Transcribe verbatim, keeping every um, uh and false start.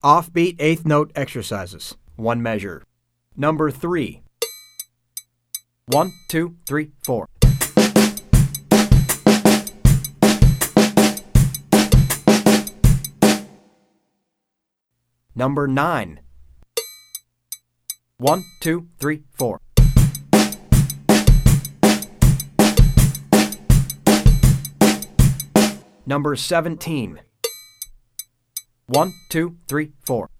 Offbeat eighth note exercises. One measure. Number three. One, two, three, four. Number nine. One, two, three, four. Number seventeen. One, two, three, four.